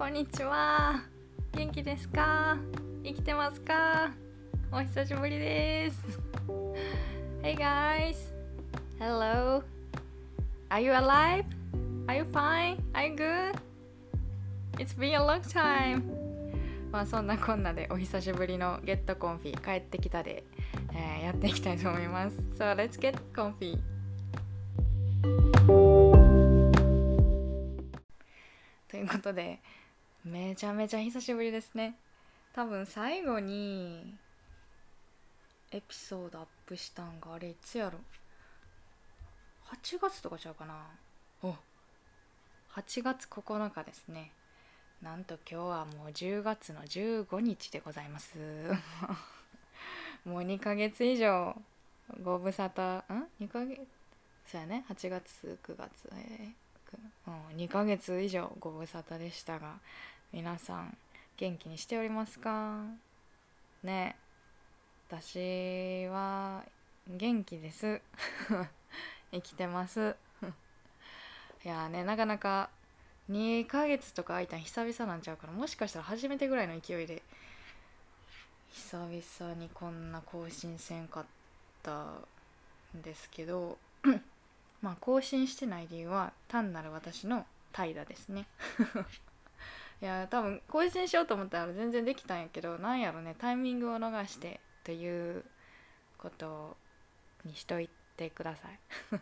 んにちは。元気ですか？生きてますか？お久しぶりです。Hey guys, hello. Are you alive? Are you fine? Are you good? It's been a long time. まあそんなこんなでお久しぶりのゲットコンフィ帰ってきたで、やっていきたいと思います。So let's get comfy. ということでめちゃめちゃ久しぶりですね。多分最後にエピソードアップしたんがあれいつやろ、8月とかちゃうかな。8月9日ですね。なんと今日はもう10月の15日でございますもう2ヶ月以上ご無沙汰2ヶ月そうやね、8月9月2ヶ月以上ご無沙汰でしたが、皆さん元気にしておりますかね。私は元気です生きてますいやね、なかなか2ヶ月とか空いたん久々なんちゃうから、もしかしたら初めてぐらいの勢いで久々にこんな更新せんかったんですけどまあ更新してない理由は単なる私の怠惰ですねいや多分更新しようと思ったら全然できたんやけど、なんやろね、タイミングを逃してということにしといてください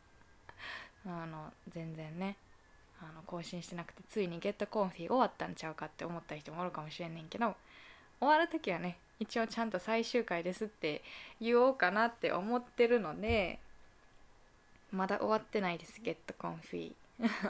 全然ね更新してなくて、ついにゲットコンフィ終わったんちゃうかって思った人もおるかもしれんねんけど、終わるときはね一応ちゃんと最終回ですって言おうかなって思ってるので、まだ終わってないです、ゲットコンフィ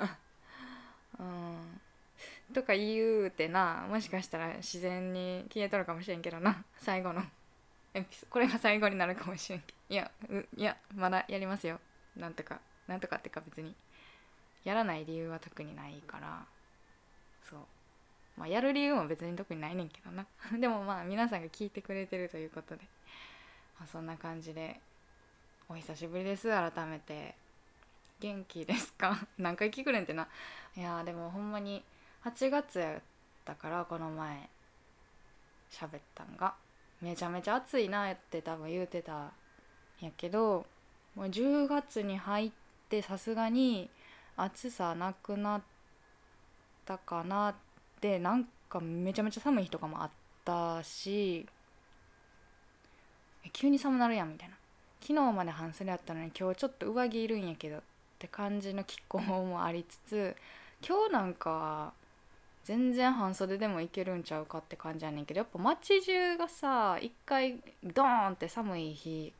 とか言うてな、もしかしたら自然に消えとるかもしれんけどな、最後のこれが最後になるかもしれんけど、いやまだやりますよ。なんとかってか別にやらない理由は特にないから、そう、まあやる理由も別に特にないねんけどなでもまあ皆さんが聞いてくれてるということで、そんな感じでお久しぶりです。改めて元気ですか何回聞くねんってな。いやでもほんまに8月やったから、この前喋ったんがめちゃめちゃ暑いなって多分言うてたんやけど、もう10月に入ってさすがに暑さなくなったかなって、なんかめちゃめちゃ寒い日とかもあったし、急に寒なるやんみたいな。昨日まで半袖やったのに今日ちょっと上着いるんやけどって感じの気候もありつつ、今日なんか全然半袖でもいけるんちゃうかって感じやねんけど、やっぱ街中がさ一回ドーンって寒い日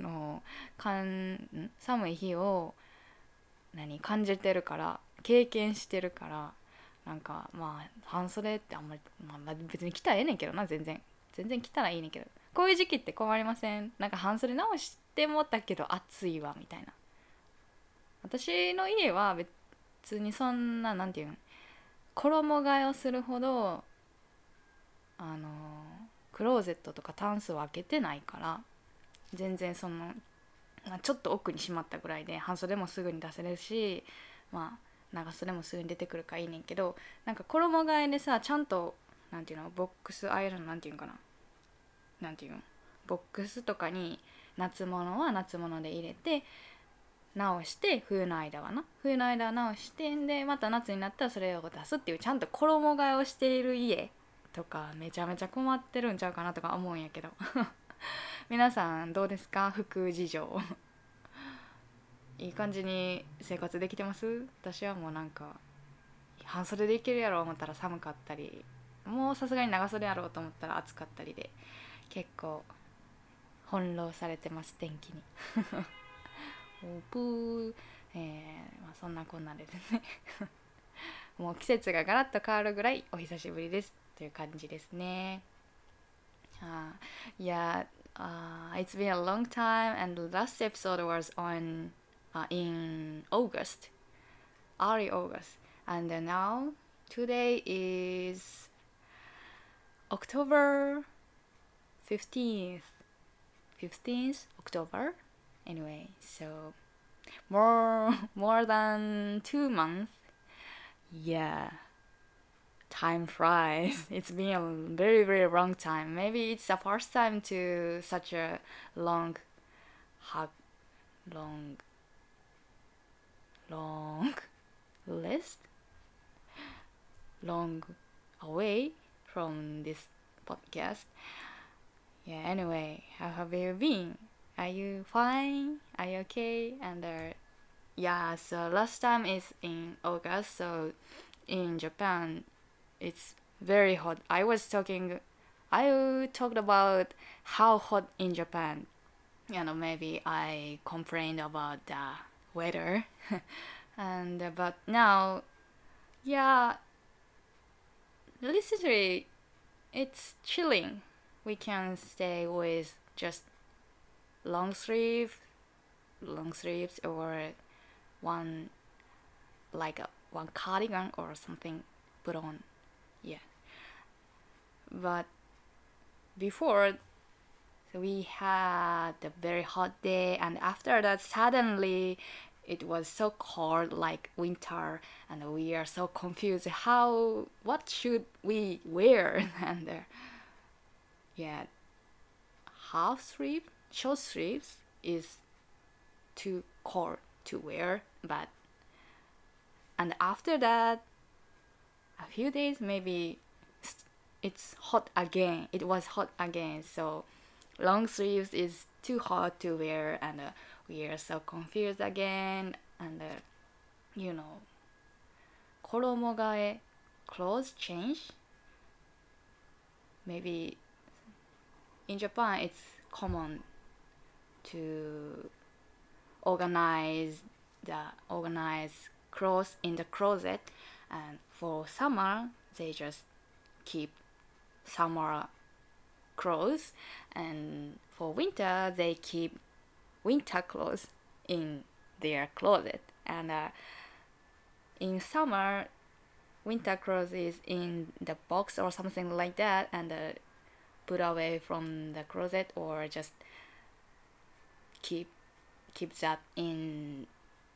寒い日を感じてるから、経験してるから、なんかまあ半袖ってあんまり、まあ、別に着たらええねんけどな、全然着たらいいねんけど、こういう時期って困りません？なんか半袖直してもったけど暑いわみたいな。私の家は別にそんななんていうん、衣替えをするほどクローゼットとかタンスを開けてないから、全然そのちょっと奥にしまったぐらいで半袖もすぐに出せるし、まあ長袖もすぐに出てくるからいいねんけど、なんか衣替えでさちゃんとなんていうの、ボックスアイロンなんていうんかな、なんていうの、ボックスとかに夏物は夏物で入れて直して、冬の間は直して、でまた夏になったらそれを出すっていう、ちゃんと衣替えをしている家とかめちゃめちゃ困ってるんちゃうかなとか思うんやけど皆さんどうですか、服事情いい感じに生活できてます？私はもうなんか半袖でいけるやろう思ったら寒かったり、もうさすがに長袖やろうと思ったら暑かったりで、結構翻弄されてます、天気におぷー、まあ、そんなこんなでですねもう季節がガラッと変わるぐらいお久しぶりですという感じですね。Yeah, it's been a long time, and the last episode was on in August, early August, and now today is October 15th, 15th October. Anyway, so more than 2 months. Yeah, time flies. It's been a very, very long time. Maybe it's the first time to such a long, hug, long, long list, long away from this podcast. Yeah, anyway, how have you been? Are you fine? Are you okay? And yeah, so last time is in August, so in Japan it's very hot. I talked about how hot in Japan. Maybe I complained about the weather. And but now, yeah, literally it's chilling. We can stay with just long sleeve, long sleeves, or one one cardigan or something put on. Yeah, but before, so we had a very hot day, and after that suddenly it was so cold like winter, and we are so confused what should we wear. And yeah, half sleeve, short sleeves is too cold to wear, but and after that a few days maybe it's hot again. It was hot again, so long sleeves is too hot to wear, and we are so confused again. And you know, 衣替え clothes change. Maybe in Japan it's common to organize clothes in the closet, and for summer they just keep summer clothes, and for winter they keep winter clothes in their closet. And in summer, winter clothes is in the box or something like that, and put away from the closet, or just keep that in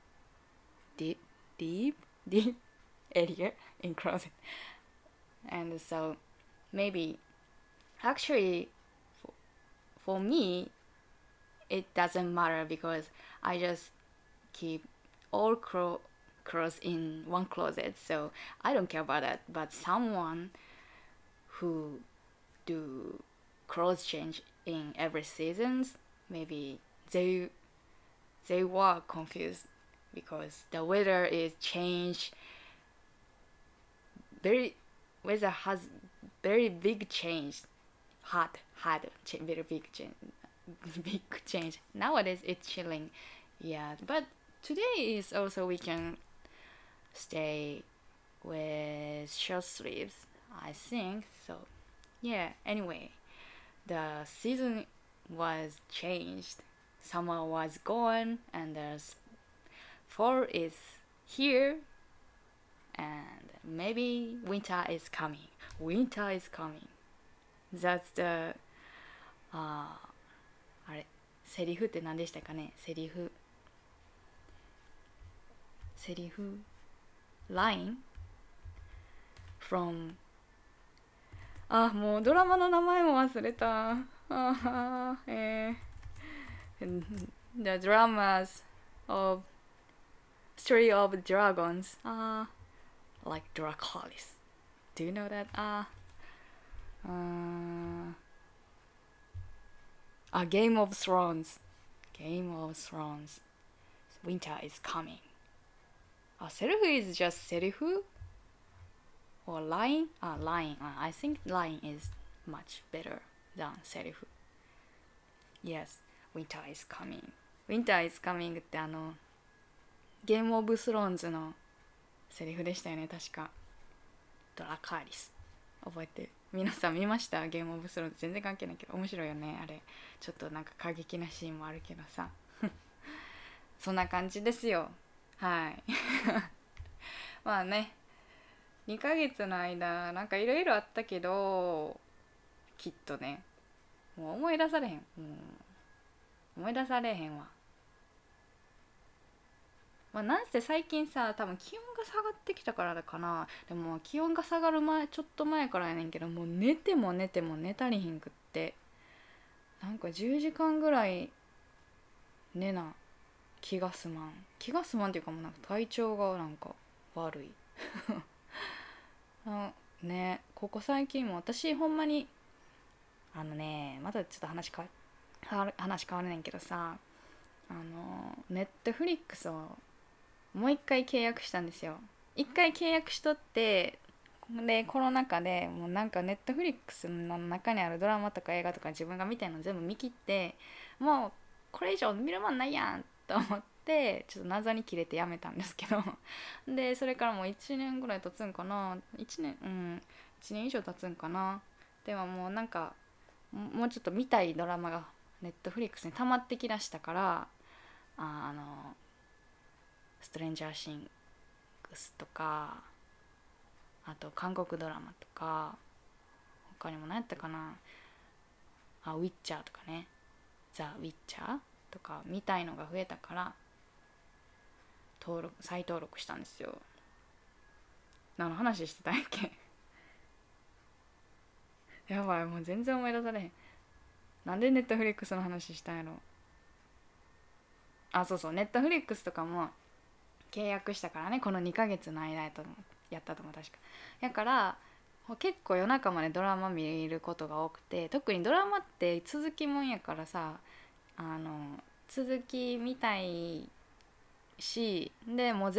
deep area in closet. And so maybe actually for me it doesn't matter, because I just keep all clothes in one closet, so I don't care about that. But someone who do clothes change in every seasons, maybe they were confused, because the weather is changed. Weather has very big change. Very big change. Big change. Nowadays it's chilling. Yeah, but today is also we can stay with short sleeves, I think. So yeah, anyway, the season was changed. Summer was gone, and the fall is here, and maybe winter is coming. Winter is coming. That's the あれセリフって何でしたかね。セリフ line from もうドラマの名前も忘れた。The dramas of Story of Dragons, like Dracarys. Do you know that? Game of Thrones. Game of Thrones. Winter is coming. Serufu is just serufu? Or line? Line. I think line is much better than serufu. Yes, winter is coming. Winter is coming ってゲームオブスローンズのセリフでしたよね、確か。ドラカーリス。覚えてる？皆さん見ました？ゲームオブスローンズ。全然関係ないけど面白いよね、あれ。ちょっとなんか過激なシーンもあるけどさ。そんな感じですよ。はい。まあね、2ヶ月の間なんかいろいろあったけど、きっとね、もう思い出されへん。思い出されへんわ。 まあ、なんせ最近さ多分気温が下がってきたからだかな。でも気温が下がる前ちょっと前からやねんけど、もう寝ても寝ても寝たりひんくって、なんか10時間ぐらい寝な気がすまんっていうか、もうなんか体調がなんか悪いあね。ここ最近も私ほんまにまたちょっと話変わるねんけどさ、ネットフリックスをもう一回契約したんですよ。一回契約しとって、でコロナ禍でもうなんかネットフリックスの中にあるドラマとか映画とか自分が見たいの全部見切って、もうこれ以上見るもんないやんと思ってちょっと謎に切れてやめたんですけどでそれからもう1年ぐらい経つんかな、1年以上経つんかな。でももうなんかもうちょっと見たいドラマがネットフリックスに溜まってきだしたから、あのストレンジャーシングスとか、あと韓国ドラマとか、他にも何やったかな、ウィッチャーとかね、ザ・ウィッチャーとか見たいのが増えたから再登録したんですよ。何の話してたんやっけやばい、もう全然思い出されへん。なんでネットフリックスの話したんやろ。そうそう、ネットフリックスとかも契約したからね、この2ヶ月の間やったと思う、確か。だから結構夜中までドラマ見ることが多くて、特にドラマって続きもんやからさ、続き見たいし、でもう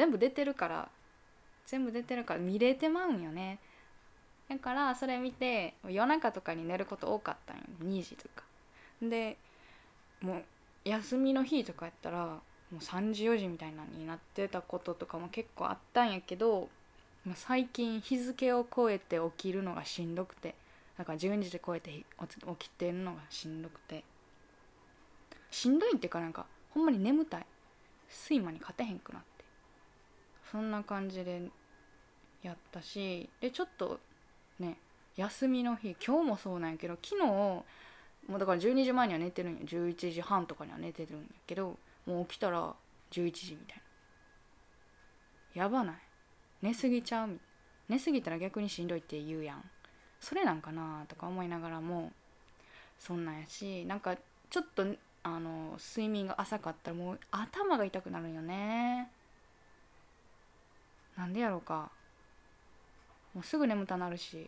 全部出てるから見れてまうんよね。だからそれ見て夜中とかに寝ること多かったんよ、2時とかで。もう休みの日とかやったらもう3時4時みたいなになってたこととかも結構あったんやけど、最近日付を超えて起きるのがしんどくて、だから12時で超えて起きてるのがしんどくて、しんどいっていうか、なんかほんまに眠たい、睡魔に勝てへんくなって、そんな感じでやったし、でちょっとね、休みの日今日もそうなんやけど、昨日もうだから12時前には寝てるんや、11時半とかには寝てるんやけど、もう起きたら11時みたいな。やばない？寝すぎちゃう？寝すぎたら逆にしんどいって言うやん。それなんかなとか思いながらも、そんなんやし、なんかちょっと睡眠が浅かったらもう頭が痛くなるんよね。なんでやろうか。もうすぐ眠たなるし、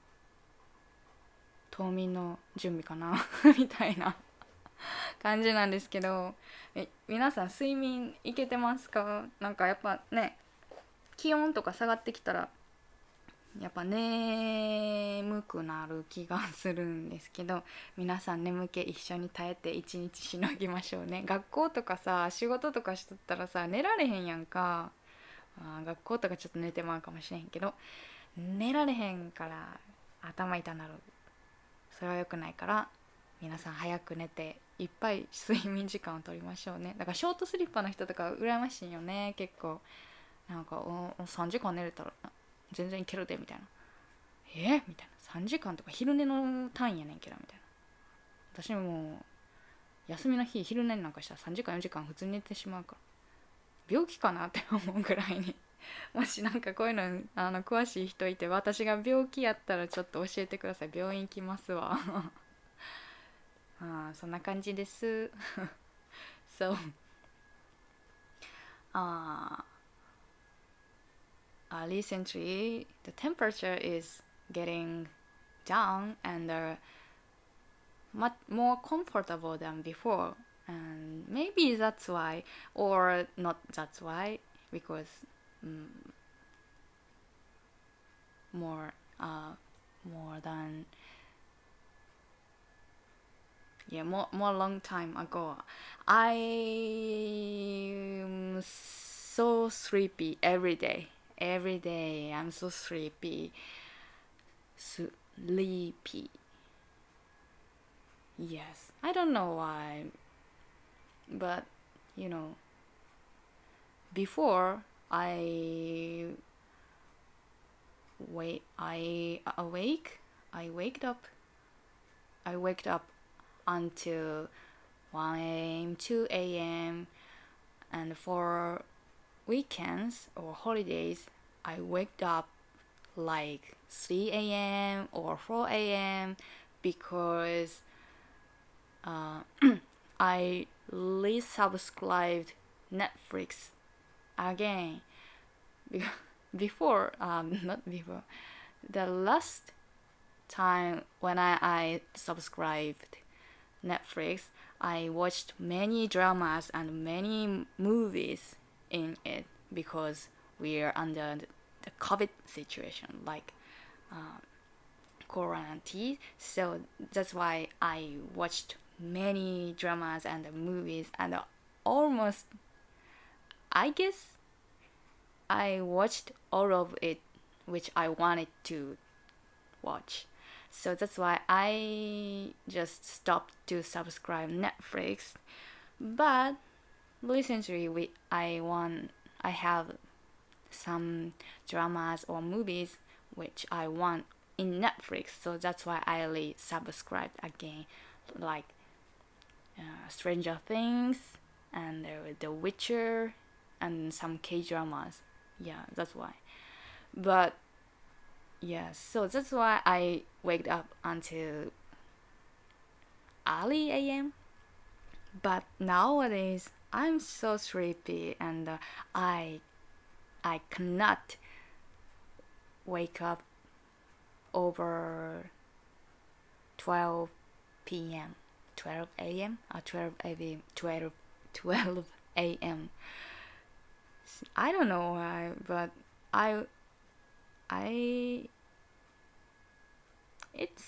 冬眠の準備かなみたいな感じなんですけど、皆さん睡眠いけてますか？なんかやっぱね、気温とか下がってきたらやっぱ眠くなる気がするんですけど、皆さん眠気一緒に耐えて一日しのぎましょうね。学校とかさ仕事とかしとったらさ寝られへんやんか。学校とかちょっと寝てまうかもしれへんけど、寝られへんから頭痛なる。それは良くないから、皆さん早く寝ていっぱい睡眠時間を取りましょうね。だからショートスリッパの人とか羨ましいよね。結構なんか3時間寝れたら全然いけるでみたいな。みたいな、3時間とか昼寝の単位やねんけどみたいな。私も休みの日昼寝なんかしたら3時間4時間普通に寝てしまうから、病気かなって思うぐらいにもしなんかこういうの詳しい人いて、私が病気やったらちょっと教えてください。病院行きますわそんな感じです。So uh, recently the temperature is getting down and much more comfortable than before, and maybe that's why, or not that's why, because um, more more than yeah, more long time ago, I'm so sleepy every day I'm so sleepy. Yes, I don't know why, but you know, before I wait, I waked up, I waked up until 1 a.m., 2 a.m., and 4 weekends or holidays, I wake up like 3 a.m. or 4 a.m. because I resubscribed Netflix again. Before, not before, the last time when I subscribed Netflix, I watched many dramas and many movies in it because we are under the COVID situation, like quarantine. So that's why I watched many dramas and movies, and almost, I guess, I watched all of it which I wanted to watch. So that's why I just stopped to subscribe Netflix. But recently I have some dramas or movies which I want in Netflix. So that's why I subscribed again, like Stranger Things and The Witcher and some K dramas. Yeah, that's why. But yeah, so that's why I waked up until early AM. But nowadays I'm so sleepy, and I cannot wake up over 12 p.m. 12 a.m. or 12 a.m. 12 a.m. I don't know why, but I it's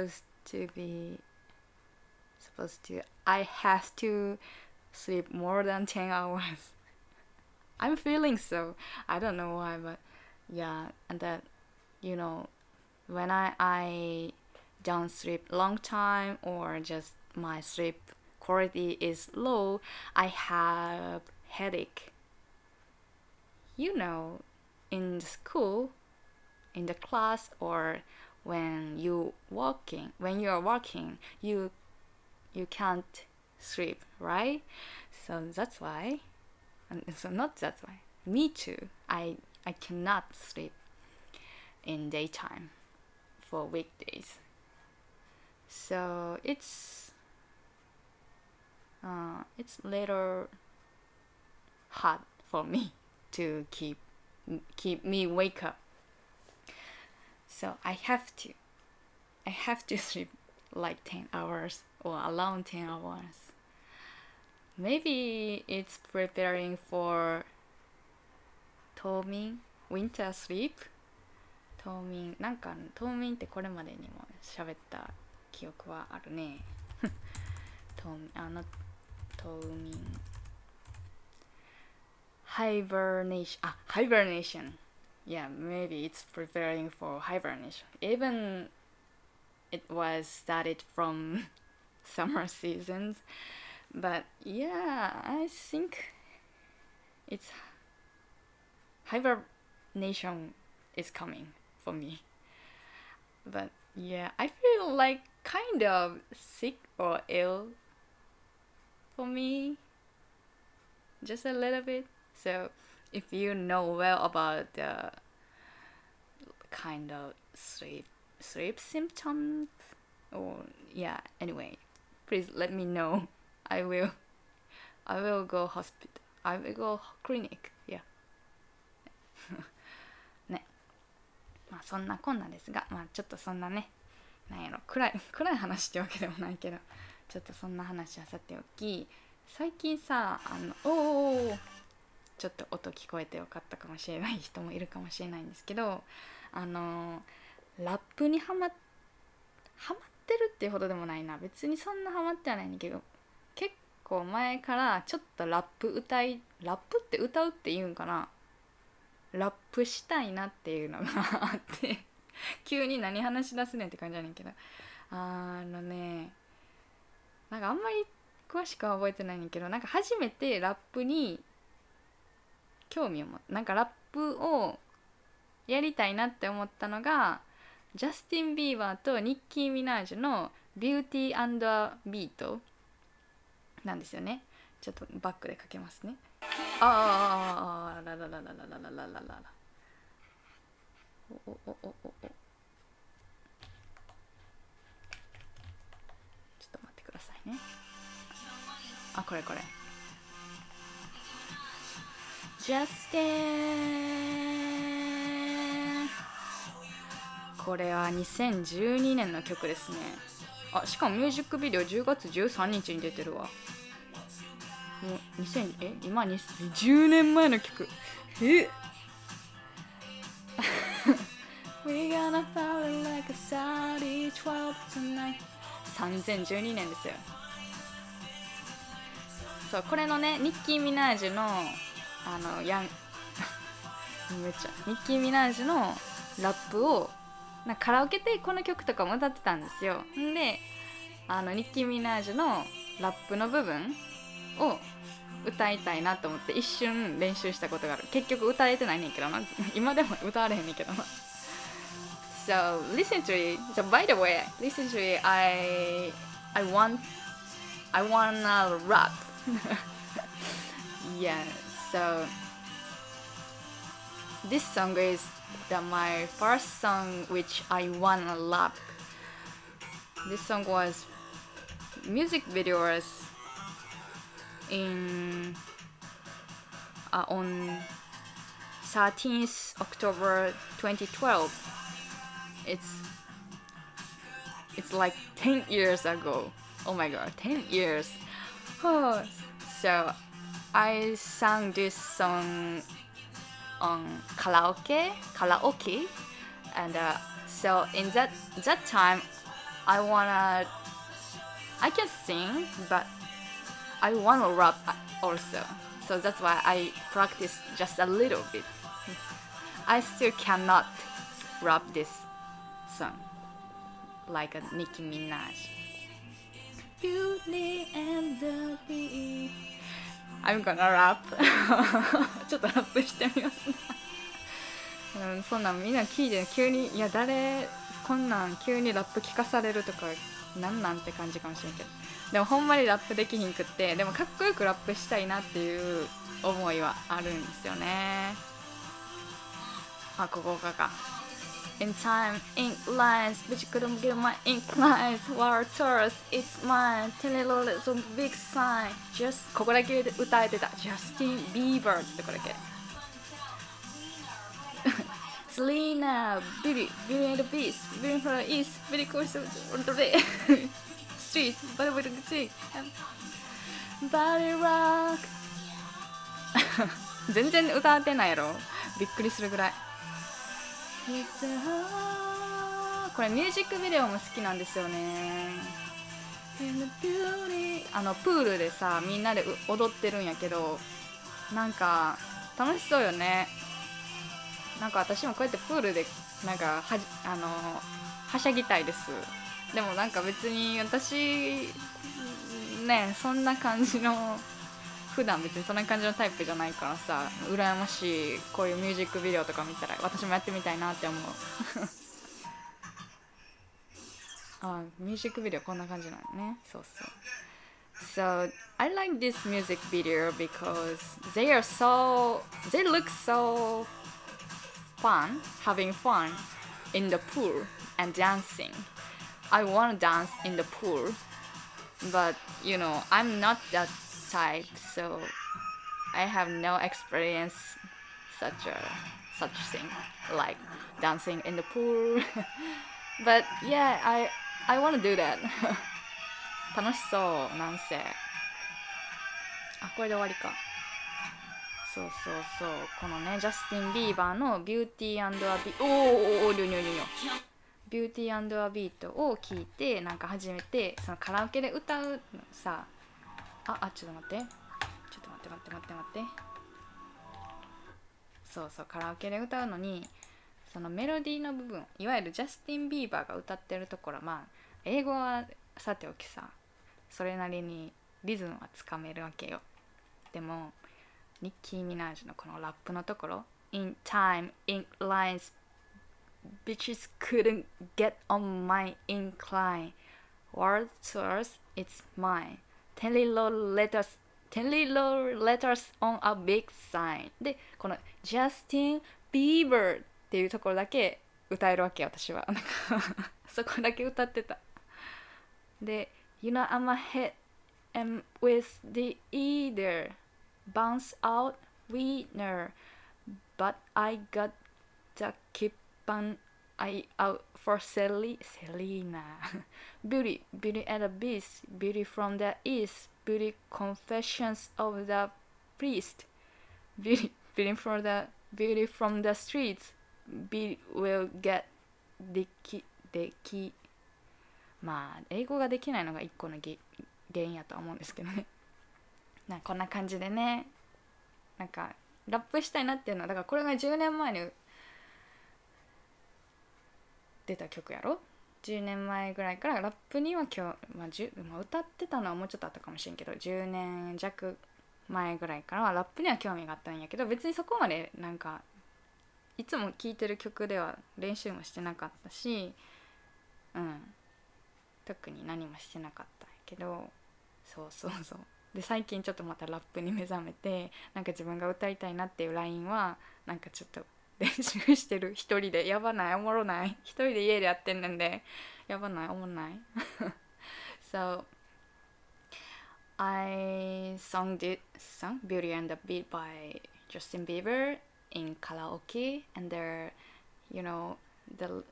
supposed to I have to sleep more than 10 hours. I'm feeling so. I don't know why, but yeah, and that, you know, when I don't sleep long time, or just my sleep quality is low, I have headache. You know, in the school, in the class, or when you are walking, you can't sleep, right? So that's why, and so not that's why, me too, I cannot sleep in daytime for weekdays. So it's little hard for me to keep me wake up. So I have to sleep like 10 hours or around 10 hours. Maybe it's preparing for冬眠 winter sleep. 冬眠なんか冬眠ってこれまでにも喋った記憶はあるね。冬眠 hibernation. Yeah, maybe it's preparing for hibernation. Even it was started from summer seasons, but yeah, I think it's hibernation is coming for me. But yeah, I feel like kind of sick or ill for me, just a little bit. So if you know well about the kind of sleep symptoms, or yeah, anyway, please let me know. I will go hospital. I will go clinic. Yeah. ね、まあそんなこんなですが、まあちょっとそんなね、なんやろ、暗い話ってわけでもないけど、ちょっとそんな話はさておき、最近さ、ちょっと音聞こえてよかったかもしれない人もいるかもしれないんですけど、ラップにハマってるっていうほどでもないな、別にそんなハマってはないんだけど、結構前からちょっとラップって歌うって言うんかな、ラップしたいなっていうのがあって急に何話し出すねんって感じやねんけど、なんかあんまり詳しくは覚えてないねんけど、なんか初めてラップに興味を持って、なんかラップをやりたいなって思ったのがジャスティン・ビーバーとニッキー・ミナージュのビューティー&ビートなんですよね。 ちょっとバックでかけますね。ああ、ラララララララララララ。おおおおおお。ちょっと待ってくださいね。あ、これこれ。Justin。これは2012年の曲ですね。あ、しかもミュージックビデオ10月13日に出てるわ。もう今10年前の曲。We gonna fall like a Saudi 12 tonight。2012年ですよ。そう、これのね、ニッキー・ミナージュのめっちゃニッキー・ミナージュのラップをなんかカラオケでこの曲とかも歌ってたんですよ。んでニッキー・ミナージュのラップの部分を歌いたいなと思って一瞬練習したことがある。結局歌えてないねんけどな。今でも歌われへんねんけどな。So listen to it. So by the way, listen to it. I wanna rap. Yeah. So this song is my first song which I wanna rap. This song was music videos in on 13th October 2012. It's like 10 years ago. Oh my god, 10 years. Oh, so I sang this song on karaoke, and so in that time I can sing, but I wanna rap also. So that's why I practice just a little bit. I still cannot rap this song like a Nicki Minaj. Beauty and the Beast. I'm gonna rap. ちょっとラップしてみますね。そんなんみんな聞いて急に、いや誰こんなん急にラップ聞かされるとかなんなんて感じかもしれんけど、でもほんまにラップできひんくって、でもかっこよくラップしたいなっていう思いはあるんですよね。あ、ここか。In time, ink lines, but you couldn't get my ink lines. War tours, it's mine. Tell it all, it's a big sign. Just ここだけ歌えてた。Justin Bieber ってとこだけ。Selena, Beauty, Beauty and the Beast, Beauty from the East, Beauty Course on the Day, Street, Body with the Sick, Body Rock 全然歌ってないやろ。びっくりするぐらい。これミュージックビデオも好きなんですよね。プールでさみんなで踊ってるんやけど、なんか楽しそうよね。なんか私もこうやってプールでなんかはしゃぎたいです。でもなんか別に私ね、そんな感じの普段別にそんな感じのタイプじゃないからさ、羨ましい。こういうミュージックビデオとか見たら私もやってみたいなって思う。あ、ミュージックビデオこんな感じなのね。そうそう。So I like this music video because they look so fun, having fun in the pool and dancing. I want to dance in the pool, but you know, I'm not that type, so I have no experience such thing like dancing in the pool. But yeah, I want to do that. 楽しそう、なんせ。あ、これで終わりか。そうそうそう、このねジャスティン・ビーバーのビューティー&アビート、ビューティー&アビートを聞いて、なんか初めてそのカラオケで歌うのさ、ちょっと待って、そうそう、カラオケで歌うのにそのメロディーの部分、いわゆるジャスティン・ビーバーが歌ってるところ、まあ英語はさておきさ、それなりにリズムはつかめるわけよ。でもニッキー・ミナージュのこのラップのところ、 In time, ink lines, bitches couldn't get on my incline. World source, it's mine. 10 little letters 10 little letters on a big sign で、この Justin Bieber っていうところだけ歌えるわけ、私は。なんかそこだけ歌ってた。で You know I'm a hit and with the either bounce out winner but I got the keep on eye out for Selena Beauty and the Beast, Beauty from the East, Beauty Confessions of the Priest, Beauty from the streets, Beauty will get できまあ英語ができないのが一個の原因やとは思うんですけどね。なんかこんな感じでね、なんかラップしたいなっていうのは、だからこれが10年前に出た曲やろ。10年前ぐらいからラップには今日、歌ってたのはもうちょっとあったかもしれんけど、10年弱前ぐらいからはラップには興味があったんやけど、別にそこまでなんかいつも聴いてる曲では練習もしてなかったし、特に何もしてなかったんやけど、そうで最近ちょっとまたラップに目覚めて、なんか自分が歌いたいなっていうラインはなんかちょっと練習してる、一人で。やばない、おもろない、一人で家でやってんねんで、やばない、おもろないSo I sung Beauty and the Beat by Justin Bieber in karaoke, and there, you know, the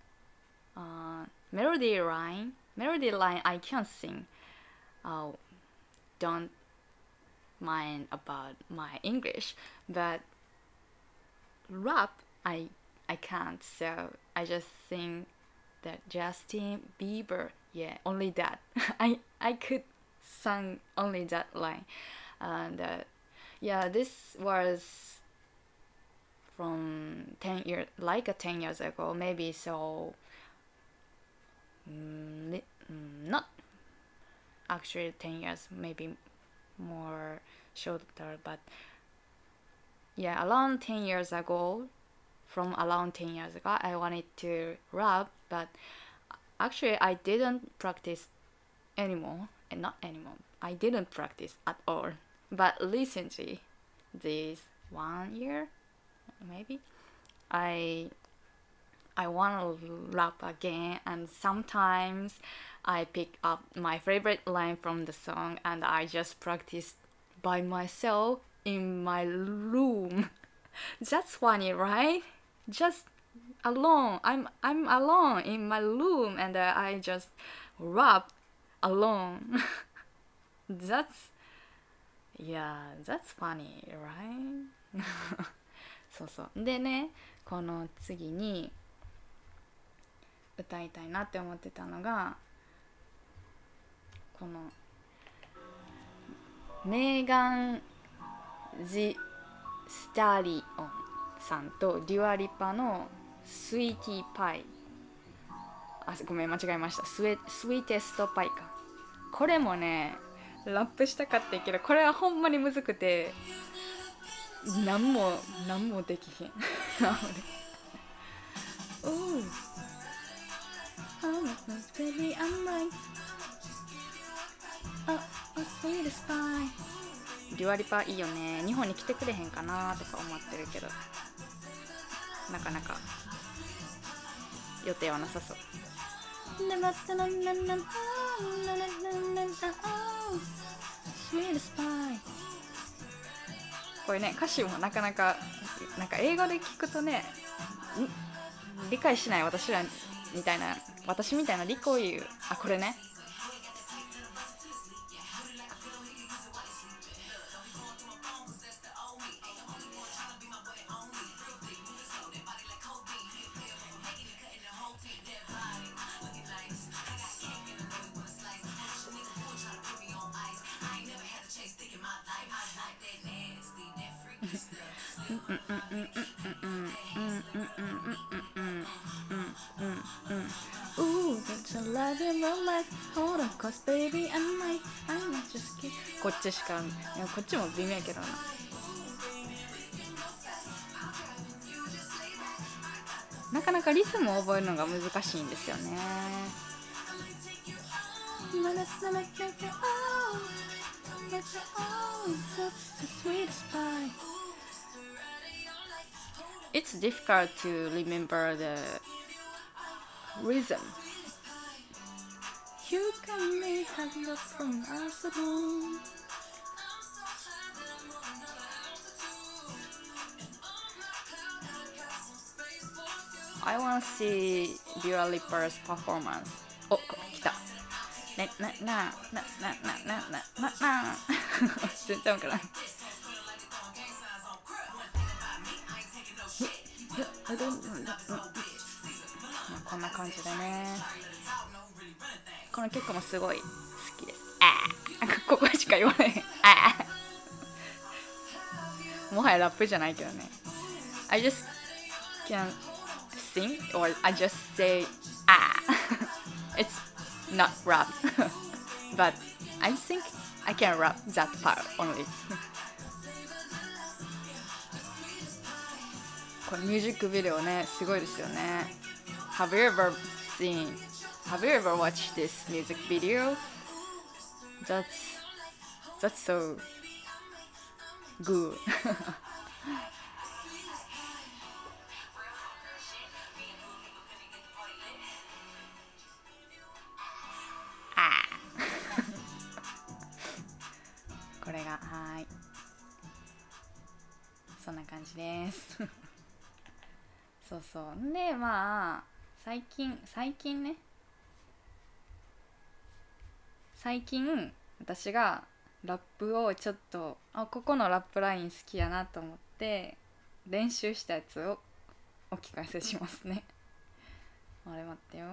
melody line I can't sing. Don't mind about my English, but rap I can't, so I just sing that Justin Bieber, yeah, only that. I could sing only that line, and yeah, this was from 10 years, like 10 years ago, maybe. So not actually 10 years, maybe more shorter, but yeah, around 10 years ago, I wanted to rap, but actually I didn't practice anymore, and not anymore, I didn't practice at all. But recently, this 1 year, maybe, I want to rap again, and sometimes I pick up my favorite line from the song and I just practice by myself in my room. That's funny, right? Just alone. I'm alone in my room, and I just rap alone. That's funny, right? そうでね、この次に歌いたいなって思ってたのが、このメーガン・ジ・スタリオンさんとデュアリパのスイーティーパイ、ごめん間違えました、スイーテストパイか。これもねラップしたかったけど、これはほんまにむずくて何もできへんBaby, I'm like a sweet spy。 デュアリパいいよね。日本に来てくれへんかなとか思ってるけど、なかなか予定はなさそう。これね、歌詞もなかなかなんか英語で聞くとね、理解しない私みたいなリコを言う。これね、こっちしか、こっちも微妙やけどな。なかなかリズムを覚えるのが難しいんですよね。 It's difficult to remember the rhythm. You can may have love from us alone. I want to see Dua Lipa's performance. お、来た。ね、な。全然わからない。こんな感じでね。この曲もすごい好きです。ここしか言わない。もはやラップじゃないけどね。I just can sing or I just say It's not rap but I think I can rap that part only これミュージックビデオねすごいですよね Have you ever watched this music video? That's so good これがはいそんな感じですそうそうでまあ最近私がラップをちょっとここのラップライン好きやなと思って練習したやつをお聞かせしますねあれ待ってよ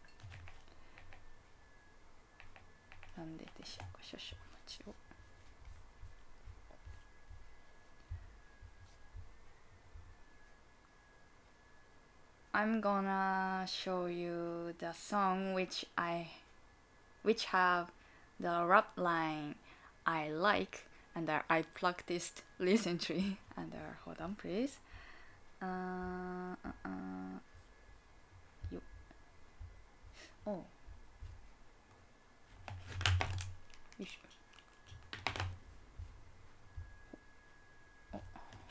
なんででしょうか少々お待ちをI'm gonna show you the song which have the rap line I like and I practiced recently and hold on please よおよいしょ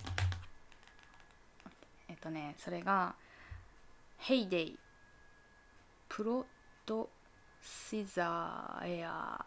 それがHeyday プロトシザーエア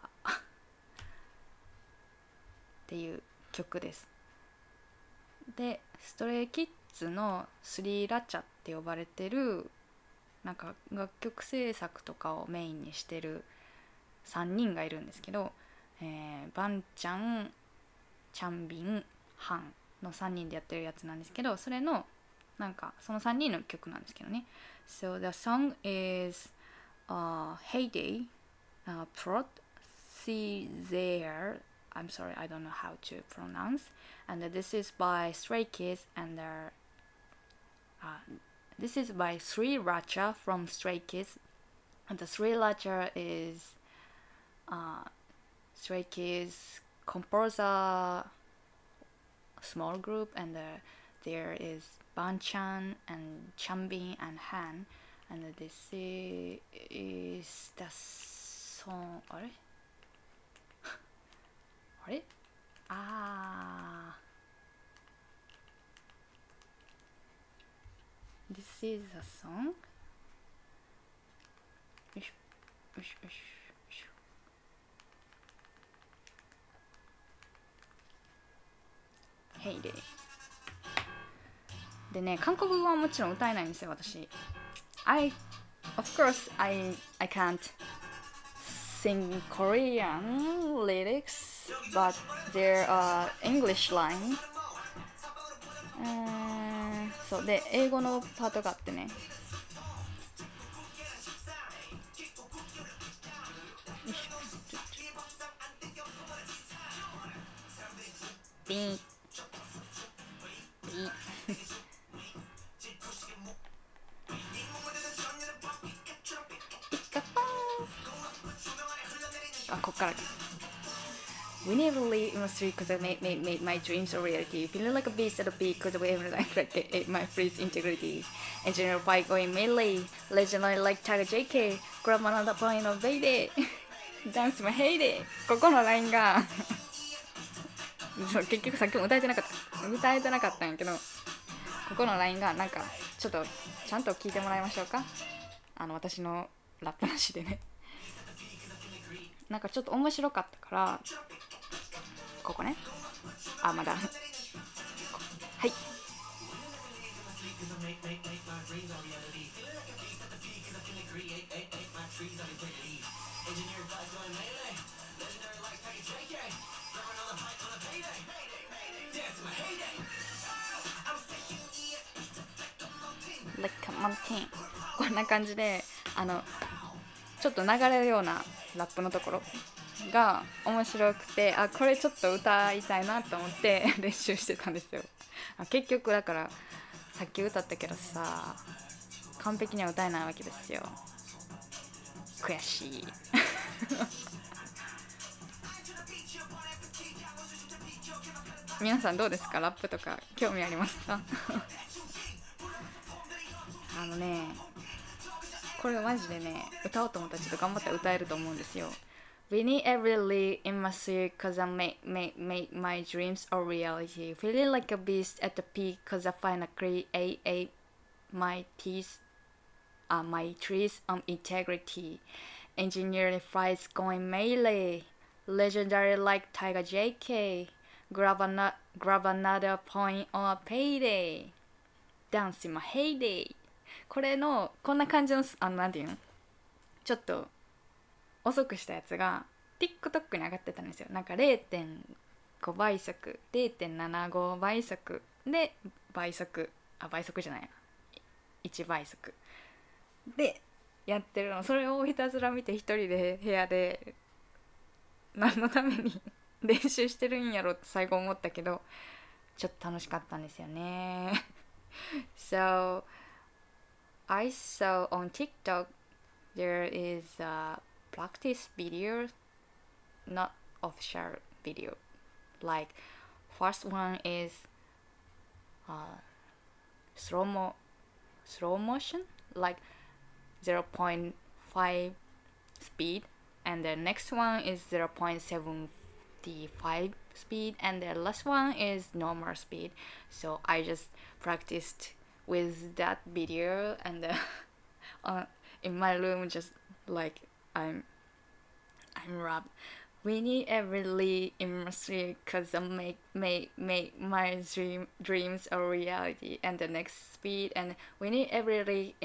っていう曲ですでストレイキッズのスリーラチャって呼ばれてるなんか楽曲制作とかをメインにしてる3人がいるんですけど、バンちゃん、チャンビン、ハンの3人でやってるやつなんですけどそれのなんかその3人の曲なんですけどね So the song is Heyday Prot See There I'm sorry I don't know how to pronounce and this is by Stray Kids and this is by Sri Racha from Stray Kids and the Sri Racha is Stray Kids composer small group and there is Banchan and Chanbin and Han and this is the song あれThis is a song よいしょよいしょよいしょHeydayでね韓国語はもちろん歌えないんですよ私Of course I can't sing Korean lyrics but there are English line そうで英語のパートがあってねビーンこっからWe never leave my street cause I made my dreams a reality. Feeling like a beast at a peak cause I ever like my freeze integrity. Engineer fight going melee. Legendary like Tiger JK. Grab another point of baby. Dance my heyday. ここのラインがそう結局さっきも歌えてなかったんやけど、ここのラインがなんかちょっとちゃんと聞いてもらいましょうか。私のラップなしでね、なんかちょっと面白かったから、ここね、まだはい。Like a mountain こんな感じでちょっと流れるようなラップのところが面白くて、これちょっと歌いたいなと思って練習してたんですよ。結局だからさっき歌ったけどさ、完璧には歌えないわけですよ。悔しい皆さんどうですか？ラップとか興味ありますか？これマジでね、歌おうと思ったらちょっと頑張って歌えると思うんですよ。Winning every league in my city cause I make my dreams a reality. Feeling like a beast at the peak cause I finally create my teeth, my trees on integrity. Engineering flights going melee. Legendary like Tiger JK. Grab another point on a payday. Dance in my heyday. これのこんな感じのなんていうの、ちょっと遅くしたやつが TikTok に上がってたんですよ。なんか 0.5 倍速 0.75 倍速で倍速じゃないな、1倍速でやってるの。それをひたすら見て一人で部屋で何のために練習してるんやろって最後思ったけど、ちょっと楽しかったんですよねSo I saw on TikTok there is a practice video, not official video. Like first one is slow motion, like 0.5 speed, and the next one is 0.75 speed, and the last one is normal speed. So I just practiced with that video and in my room, just like I'm rap. We need every in my sleep cause I make my dreams a reality, and the next speed, and we need every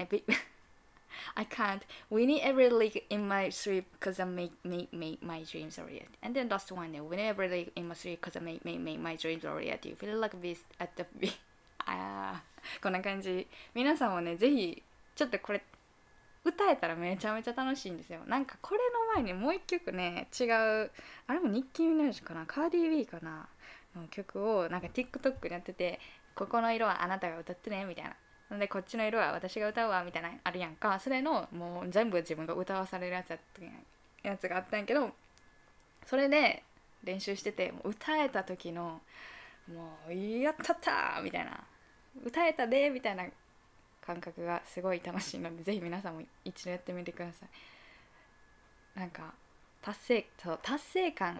I can't. We need every leak in my sleep cause I make my dreams a reality. And then last one, we need every leak in my sleep cause I make my dreams a reality. Feel like this at the beat. こんな感じ。皆さんもね、ぜひちょっとこれ歌えたらめちゃめちゃ楽しいんですよ。なんかこれの前にもう一曲ね、違う、あれもニッキー・ミナージュかな、カーディー・ビーかなの曲をなんか TikTok でやってて、ここの色はあなたが歌ってねみたいな、でこっちの色は私が歌うわみたいなあるやんか。それのもう全部自分が歌わされるやつがあったんやけど、それで練習してて、もう歌えた時のもうやったったーみたいな、歌えたでみたいな感覚がすごい楽しいので、ぜひ皆さんも一度やってみてください。なんか達成感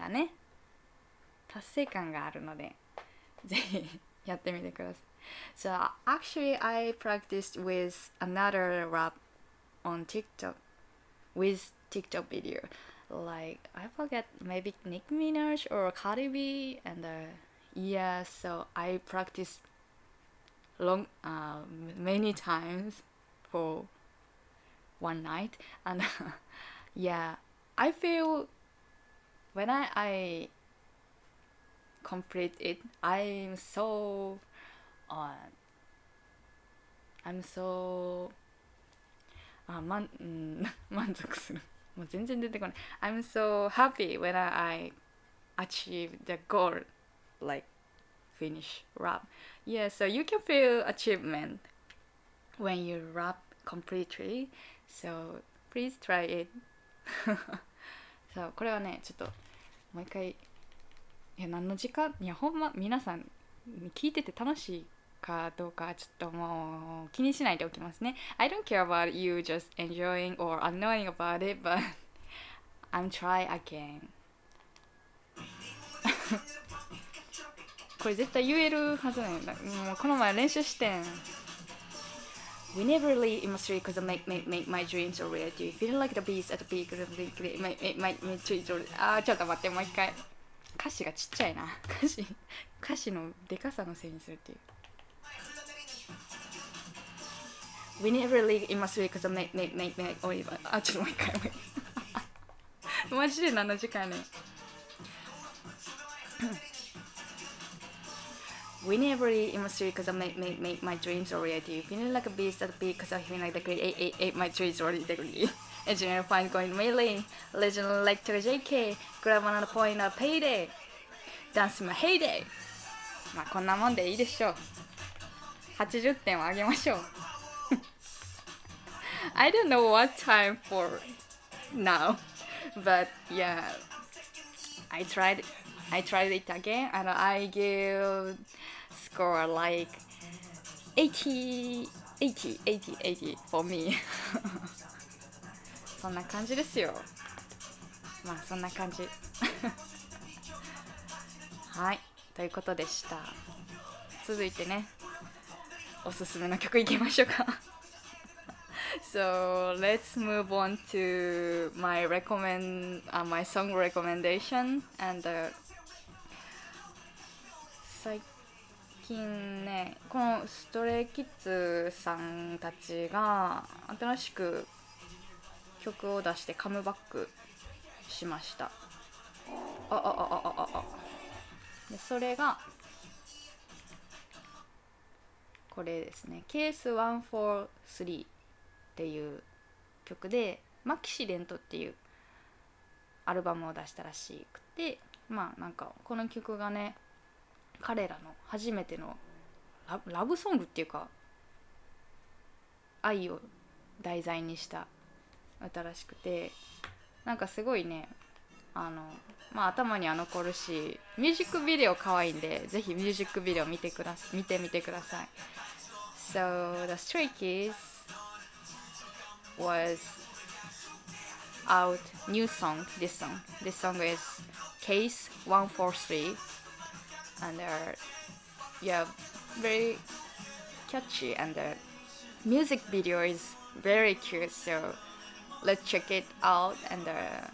があるので、ぜひやってみてください。So actually I practiced with another rap on TikTok with TikTok video, like I forget, maybe Nicki Minaj or Cardi B, and yeah, so I practiced many times for one night, and yeah, I feel when I complete it, uh, I'm so 満足する。もう全然出てこない。I'm so happy when I achieve the goal, like finish rap. Yeah, so you can feel achievement when you rap completely. So please try it. そうこれはね、ちょっともう一回、何の時間、ほんま皆さん聞いてて楽しいかどうかちょっともう気にしないでおきますね。I don't care about you just enjoying or annoying about it, but I'm try again. これ絶対言えるはずなんだ。もうこの前練習してん。We never leave in my street because I make my dreams a reality. Feeling like the beast at the peak of the week. My dreams are... ちょっと待って、もう一回。歌詞がちっちゃいな。歌詞のでかさのせいにするっていう。We never leave in my street because I make only... ちょっともう一回。マジで7時間ね。We never leave in my street because I make my dreams a reality. Feeling like a beast at the peak because I feel like the great eight my dreams are reality. Engineer fine going melee. Legend like to JK. Grab another point of payday. Dance my heyday. まあこんなもんでいいでしょう。80点をあげましょう。I don't know what time for now, but yeah, I tried it again and I give score like 80 for me. そんな感じですよ。まあそんな感じ。はい、ということでした。続いてね、おすすめの曲いきましょうか。So let's move on to my my song recommendation and、最近ね、このストレイキッズさんたちが新しく曲を出してカムバックしました。でそれがこれですね。ケース143っていう曲でマキシデントっていうアルバムを出したらしくて、まあなんかこの曲がね、彼らの初めてのラブソングっていうか愛を題材にした歌らしくて、なんかすごいね、まあ頭には残るし、ミュージックビデオ可愛いんで、ぜひミュージックビデオ見てみてください。So the Stray Kids was out new song. This song is Case 143, and yeah, very catchy, and the music video is very cute. So let's check it out. And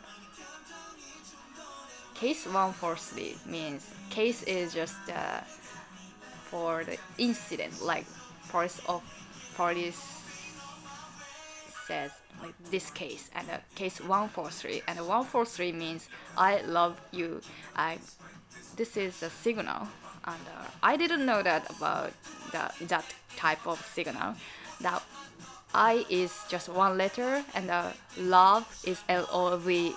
Case 143 means case is just for the incident, like police says like this case, and case 143, and 143 means I love you. This is a signal, and I didn't know that about that type of signal. That I is just one letter, and love is LOVE,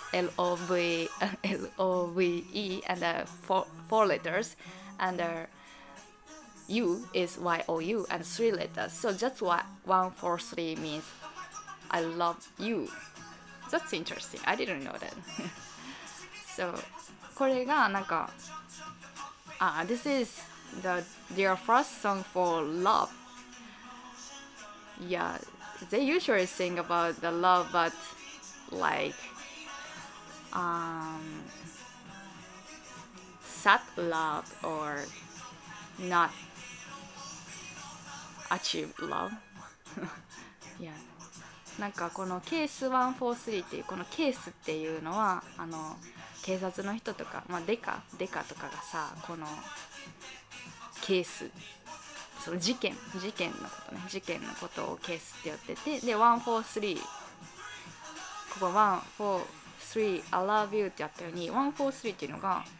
and four letters, and U is YOU, and 3 letters. So that's why 143 means I love you. That's interesting. I didn't know that. So これがなんかthis is their first song for love. Yeah, they usually sing about the love, but like sad love or not achieve love. Yeah. なんかこのケース143っていうこのケースっていうのは警察の人とか、まあ、デカとかがさ、このケース、その事件のことをケースって呼ってて、で143、ここ143 I love you ってやったように143っていうのが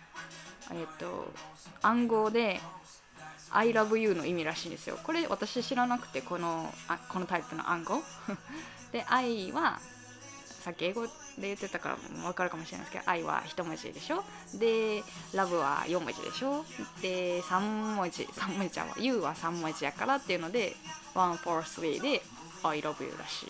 暗号で I love you の意味らしいんですよ。これ私知らなくて、このタイプの暗号で、愛はさっき英語で言ってたから分かるかもしれないですけど、愛は一文字でしょ。で、ラブは4文字でしょ。で、3文字ちゃんは You は3文字やからっていうので143で I love you らし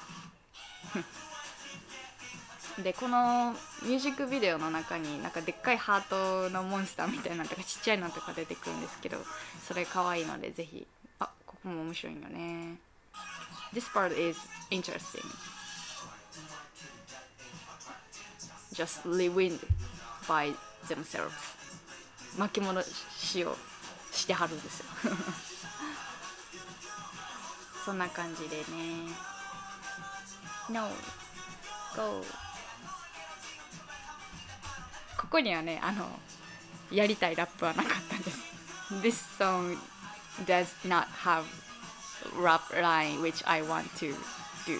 い。で、このミュージックビデオの中になんかでっかいハートのモンスターみたいなのとかちっちゃいのとか出てくるんですけど、それ可愛いのでぜひ。ここも面白いよね。This part is interesting. Just live by themselves. 巻き戻しをしてはるんですよそんな感じでね。 No Go。 ここにはねやりたいラップはなかったんです。 This song does not have rap line which I want to do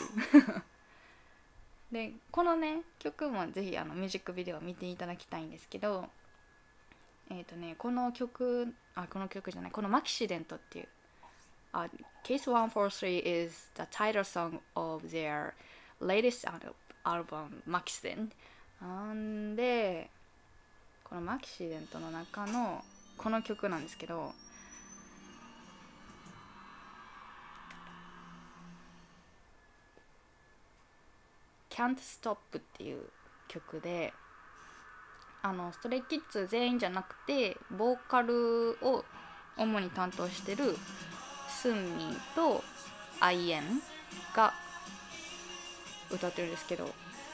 でこのね曲もぜひミュージックビデオを見ていただきたいんですけど、この曲じゃない、このマキシデントっていう、Case 143 is the title song of their latest album Maxident。 でこのマキシデントの中のこの曲なんですけど、Can't Stop っていう曲で、ストレイキッズ全員じゃなくてボーカルを主に担当してるスンミンとアイエンが歌ってるんですけど、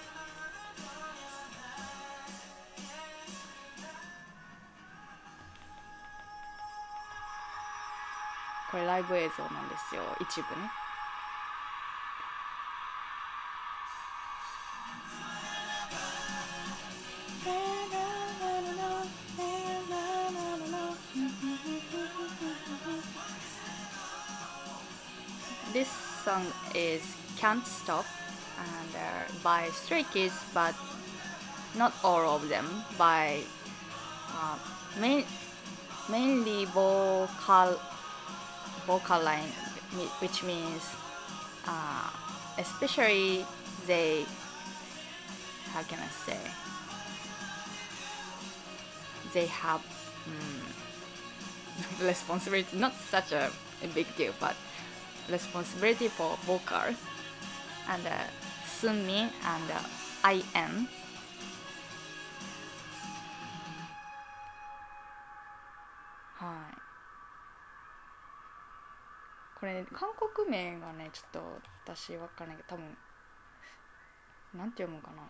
これライブ映像なんですよ、一部ね。This song is Can't Stop and by Stray Kids, but not all of them, by mainly vocal line, which means especially they, how can I say, they have responsibility, not such a big deal, but responsibility for vocal, and Sunmi and IN。 はい、これ韓国名がねちょっと私わからないけど、多分なんて読むかな。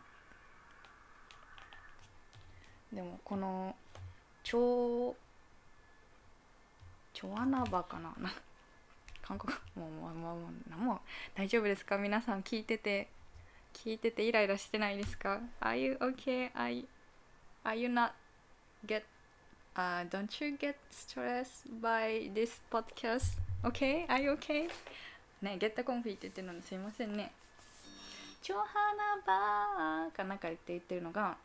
でもこのチョアナバかな韓国もう大丈夫ですか皆さん、聞いててイライラしてないですか？ Are you okay? Are you not don't you get stressed by this podcast? Okay? Are you okay? ね、ゲッタコンフィって言ってるのにすいませんね。チョハナバーかなんか言ってるのが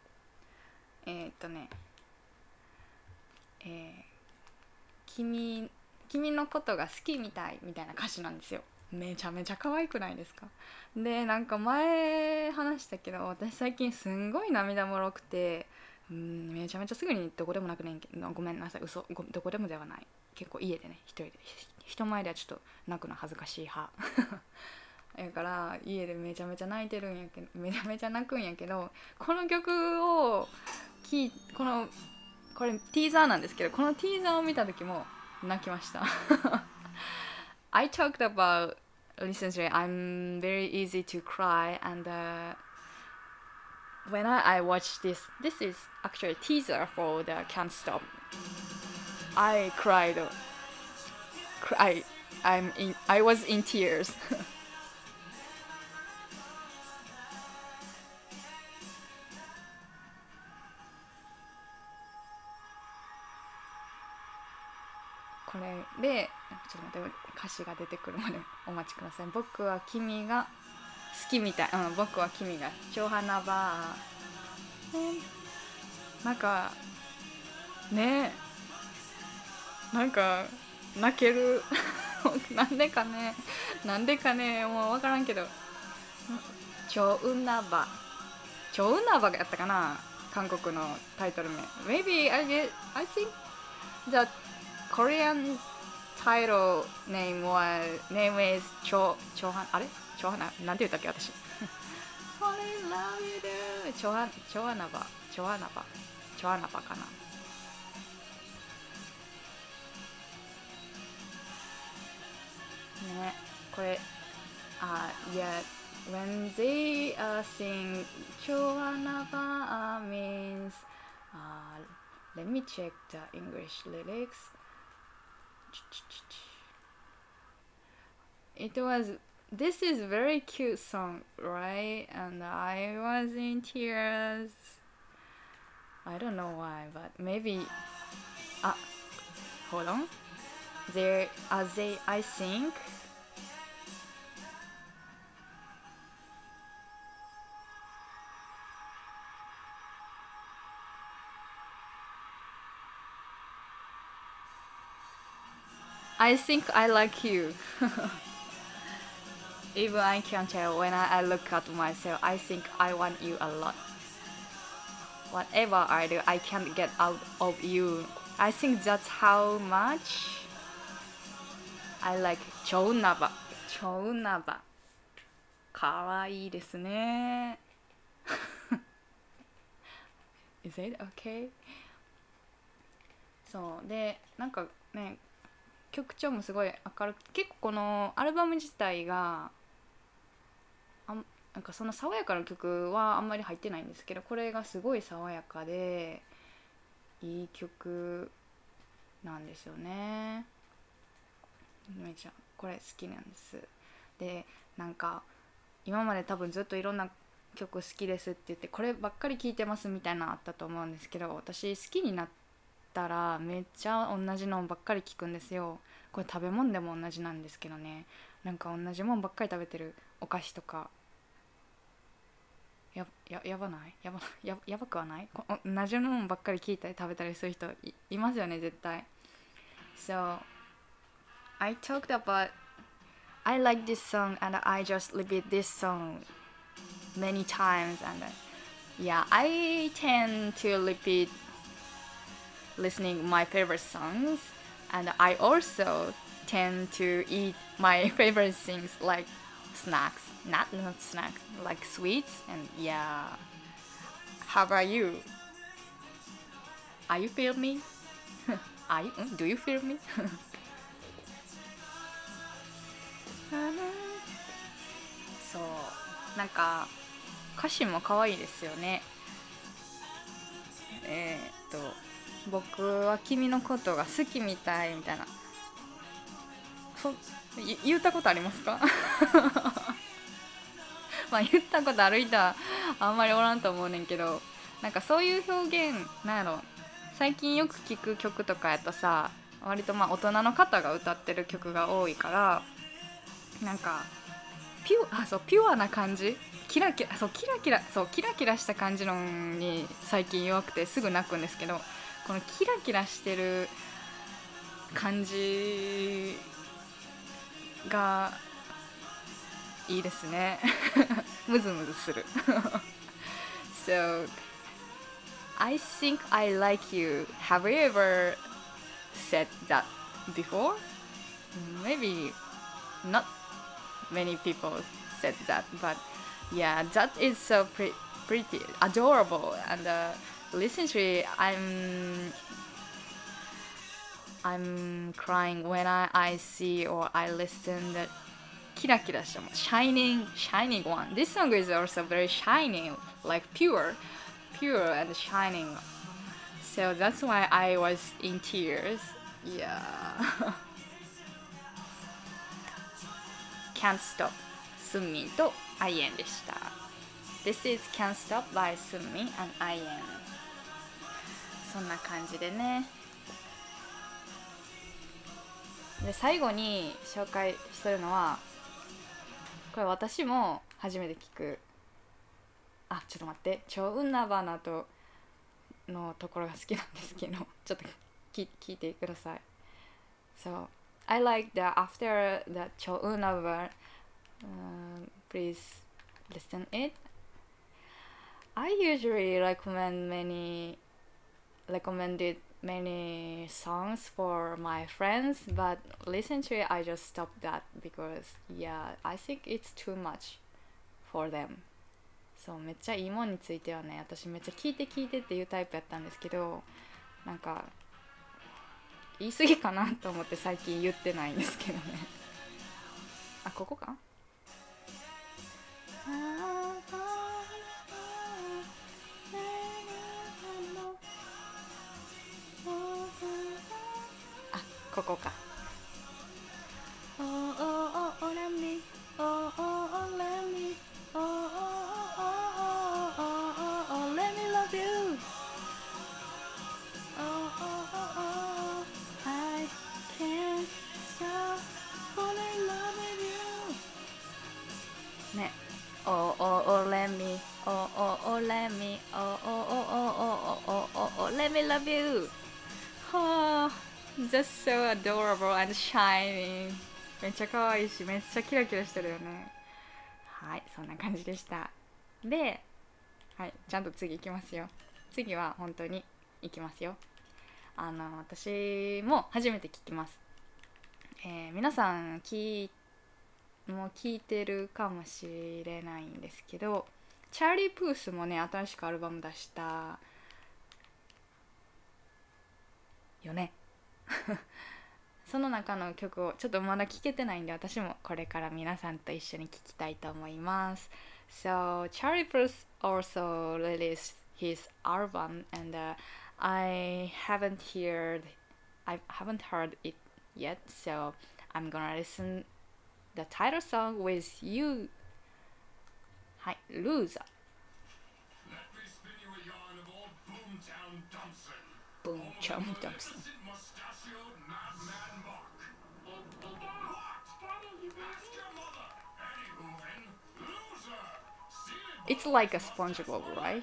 君のことが好きみたいな歌詞なんですよ。めちゃめちゃ可愛くないですか？でなんか前話したけど、私最近すんごい涙もろくて、めちゃめちゃすぐにどこでもなくねんけど、ごめんなさい、どこでもではない、結構家でね、一人で、人前ではちょっと泣くの恥ずかしい派だから家でめちゃめちゃ泣いてるんやけど、めちゃめちゃ泣くんやけど、この曲をこれティーザーなんですけど、このティーザーを見た時も泣きましたI talked about recently I'm very easy to cry, and when I watched this is actually a teaser for the Can't Stop. I cried. I was in tears これでちょっと待って、歌詞が出てくるまでお待ちください。僕は君が好きみたい、僕は君が超花バー、なんかね、なんか泣けるなんでかねもう分からんけど、超ウナバがやったかな、韓国のタイトル名。 Maybe I think the Korean title name is あれチョハナ、なんて言ったっけ私Fall in love with you チョアナバかな。ね、これyeah, when they sing チョアナバ means Let me check the English lyrics. It was this is very cute song, right? And I was in tears. I don't know why, but maybe hold on. There they I think I like you. Even I can tell when I look at myself, I think I want you a lot. Whatever I do, I can't get out of you. I think that's how much I like チョウナバ。チョウナバ。かわいいですね。Is it okay? そうでなんかね曲調もすごい明るく結構このアルバム自体がなんかその爽やかな曲はあんまり入ってないんですけどこれがすごい爽やかでいい曲なんですよね。めちゃこれ好きなんです。でなんか今まで多分ずっといろんな曲好きですって言ってこればっかり聴いてますみたいなのあったと思うんですけど私好きになったらめっちゃ同じのばっかり聴くんですよ。これ食べ物でも同じなんですけどねなんか同じもんばっかり食べてるお菓子とかやばないやばくはない同じもんばっかり聞いたり食べたりする人いますよね絶対。So I talked about I like this song and I just repeat this song many times and yeah I tend to repeat listening my favorite songs and I also tend to eat my favorite things like snacks not snacks like sweets and yeah how about you are you feel me do you feel me そうなんか歌詞も可愛いですよね。僕は君のことが好きみたいみたいな言ったことありますかまあ言ったことある人はあんまりおらんと思うねんけどなんかそういう表現なんやろ最近よく聞く曲とかやとさ割とまあ大人の方が歌ってる曲が多いからなんかピュアな感じキラキラした感じのに最近弱くてすぐ泣くんですけどこのキラキラしてる感じがいいですねムズムズするSo I think I like you. Have you ever said that before? Maybe not many people said that, but yeah, that is so pretty, adorable, and recently I'm crying when I see or I listen that キラキラしたもん shining one. This song is also very shining, like pure and shining. So that's why I was in tears. Yeah. Can't Stop スンミンとアイエンでした。This is Can't Stop by スンミン and アイエン。そんな感じでね。で最後に紹介するのはこれ私も初めて聞くちょっと待ってチョウナバナとのところが好きなんですけどちょっと聞いてください。So I like the after the チョウナバplease listen it. I usually recommended many songs for my friends, but recently I just stopped that because yeah, I think it's too much for them. そうめっちゃいいもんについてはね私めっちゃ聞いてっていうタイプやったんですけどなんか言い過ぎかなと思って最近言ってないんですけどねここかここか。Oh, oh, oh, oh, let me. Oh, oh, oh, let me. Oh, oh, oh, oh, oh, oh, let me love you. Oh, oh, oh, oh, I can't stop falling in love with you. ね。Oh, oh, oh, let me. Oh, oh, oh, let me. Oh, oh, oh, oh, oh, oh, oh, oh, let me love you. Oh, just so adorable and shining. めっちゃ可愛いし、めっちゃキラキラしてるよね。はい、そんな感じでした。で、はい、ちゃんと次行きますよ。次は本当に行きますよ。私も初めて聞きます。皆さんもう聞いてるかもしれないんですけど、チャーリー・プースもね、新しくアルバム出したよね。その中の曲をちょっとまだ聴けてないんで、私もこれから皆さんと一緒に聴きたいと思います。So Charlie Puth also released his album, and I haven't heard it yet. So I'm gonna listen the title song with you. はい、Loser。Boomtown Thompson。It's like a SpongeBob, right?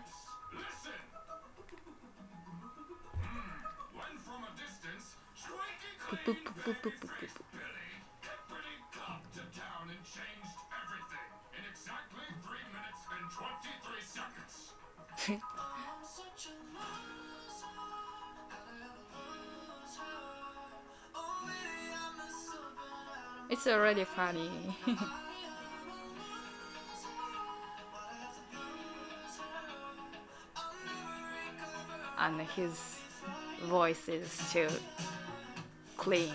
It's already funny. And his voice is too clean.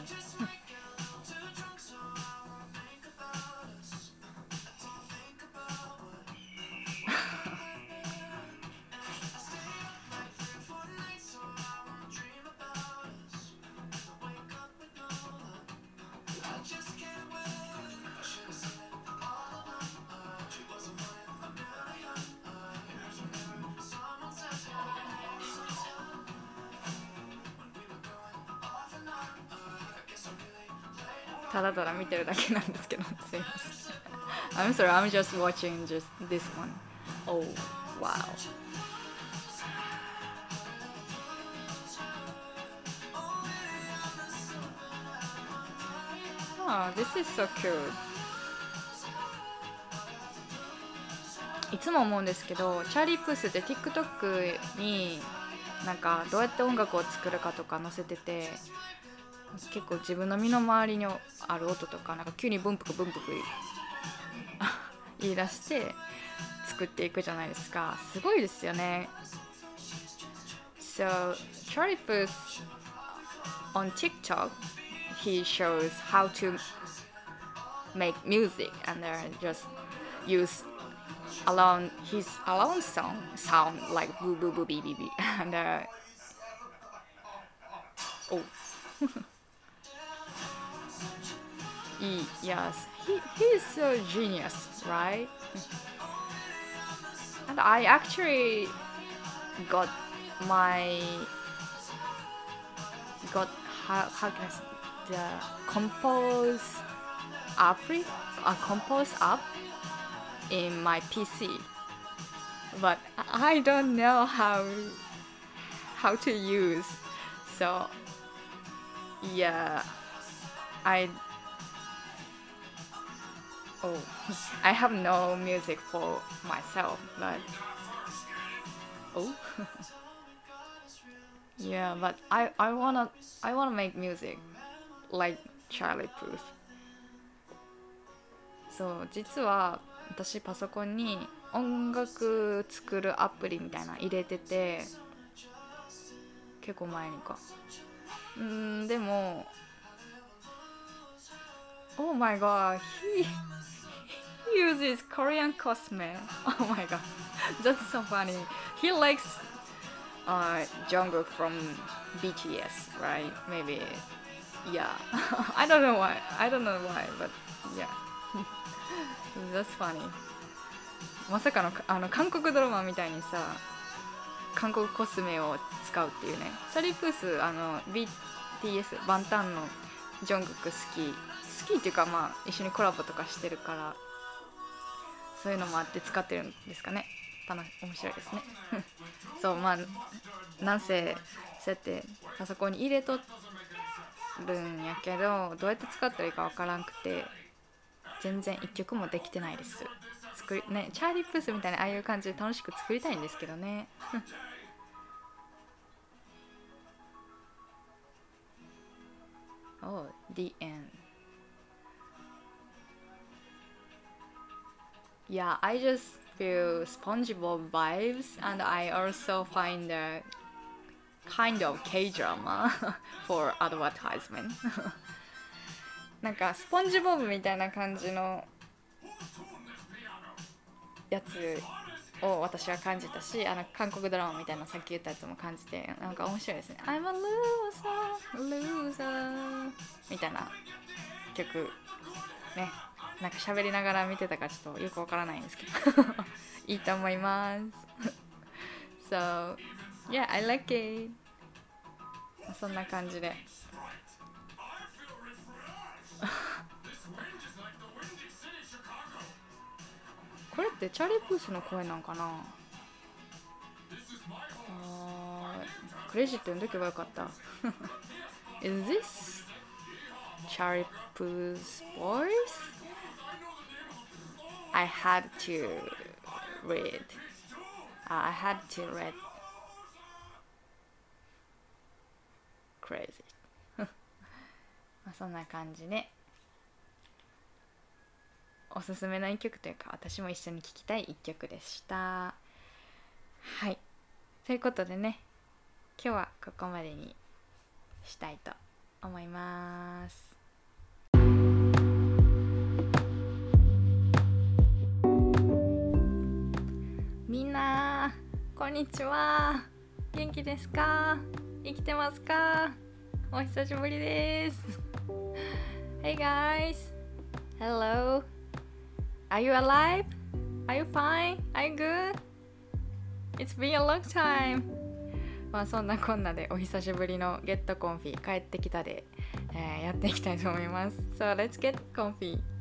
ただただ見てるだけなんですけど、すいません。I'm sorry, I'm just watching just this one. Oh, wow. Oh, this is so cute. いつも思うんですけど、チャーリー・プースって TikTok になんかどうやって音楽を作るかとか載せてて、結構自分の身の回りにある音とか、なんか急にブンプクブンプク言い出して作っていくじゃないですか。すごいですよね。So Charlie Puth on TikTok, he shows how to make music and just use his alone sound like boo boo boo bee bee bee and oh. Yes, he's a genius, right? And I actually got how can I say, the compose app in my PC, but I don't know how to use. So yeah, I have no music for myself, but yeah, but I wanna make music like Charlie Puth. そう実は私パソコンに音楽作るアプリみたいな入れてて、結構前にか。でも Oh my god, he uses Korean cosme. Oh my god, that's so funny. He likes Jungkook from BTS, right? Maybe Yeah. I don't know why, but yeah. That's funny. まさかの韓国ドラマみたいにさ、韓国コスメを使うっていうね。チャリープースBTS バンタンのジョングク好きっていうか、まあ一緒にコラボとかしてるから、そういうのもあって使ってるんですかね。面白いですね。そう、まあなんせそうやってパソコンに入れとるんやけど、どうやって使ったらいいかわからんくて、全然一曲もできてないです。ね、チャーリープースみたいなああいう感じで楽しく作りたいんですけどね。Oh, the end. Yeah, I just feel SpongeBob vibes, and I also find a kind of K-drama for advertisement. なんかスポンジボブみたいな感じのやつを私は感じたし、韓国ドラマみたいなさっき言ったやつも感じて、なんか面白いですね。I'm a loser みたいな曲ね。なんか喋りながら見てたかちょっとよくわからないんですけどいいと思いますSo yeah, I like it. そんな感じでこれってチャーリー・プースの声なんかな。クレジット読んどけばよかったIs this Charlie Puth's voice? I had to read. I had to read crazy まあそんな感じでおすすめの一曲というか、私も一緒に聴きたい一曲でした。はい、ということでね、今日はここまでにしたいと思います。みんなこんにちは。元気ですか？生きてますか？お久しぶりです。Hey guys, hello. Are you alive? Are you fine? Are you good? It's been a long time. まあそんなこんなでお久しぶりのゲットコンフィ帰ってきたで、やっていきたいと思います。So let's get comfy.